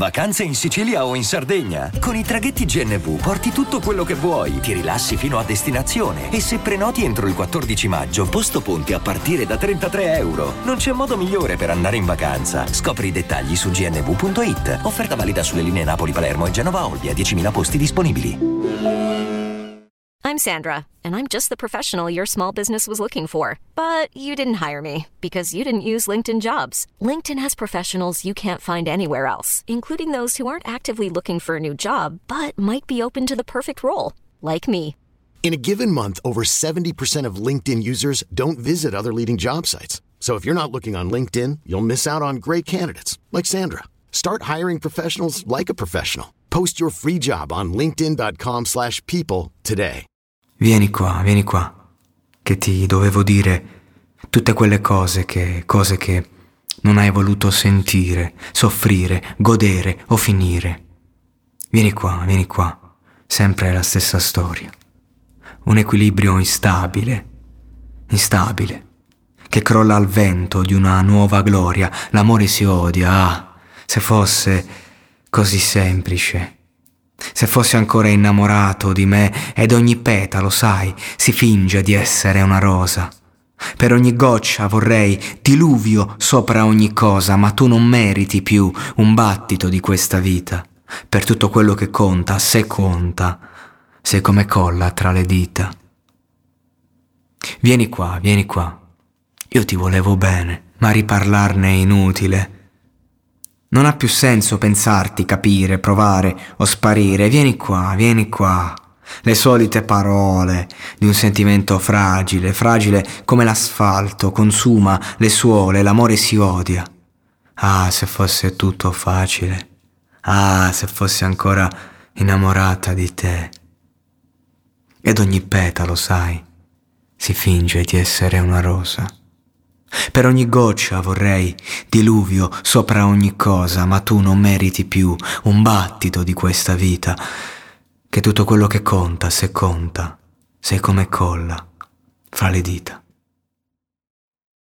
Vacanze in Sicilia o in Sardegna? Con i traghetti GNV porti tutto quello che vuoi, ti rilassi fino a destinazione e se prenoti entro il 14 maggio, posto ponti a partire da €33. Non c'è modo migliore per andare in vacanza. Scopri i dettagli su gnv.it. Offerta valida sulle linee Napoli-Palermo e Genova-Olbia, 10.000 posti disponibili. I'm Sandra, and I'm just the professional your small business was looking for. But you didn't hire me because you didn't use LinkedIn Jobs. LinkedIn has professionals you can't find anywhere else, including those who aren't actively looking for a new job, but might be open to the perfect role, like me. In a given month, over 70% of LinkedIn users don't visit other leading job sites. So if you're not looking on LinkedIn, you'll miss out on great candidates like Sandra. Start hiring professionals like a professional. Post your free job on linkedin.com/people today. Vieni qua, che ti dovevo dire tutte quelle cose che non hai voluto sentire, soffrire, godere o finire. Vieni qua, sempre la stessa storia. Un equilibrio instabile, che crolla al vento di una nuova gloria. L'amore si odia, se fosse così semplice. Se fossi ancora innamorato di me ed ogni petalo, sai, si finge di essere una rosa. Per ogni goccia vorrei diluvio sopra ogni cosa, ma tu non meriti più un battito di questa vita. Per tutto quello che conta, se conta, sei come colla tra le dita. Vieni qua. Io ti volevo bene, ma riparlarne è inutile. Non ha più senso pensarti, capire, provare o sparire. Vieni qua. Le solite parole di un sentimento fragile come l'asfalto, consuma le suole, l'amore si odia. Ah, se fosse tutto facile. Ah, se fossi ancora innamorata di te. Ed ogni petalo, sai, si finge di essere una rosa. Per ogni goccia vorrei diluvio sopra ogni cosa, ma tu non meriti più un battito di questa vita, che tutto quello che conta, se conta, sei come colla fra le dita.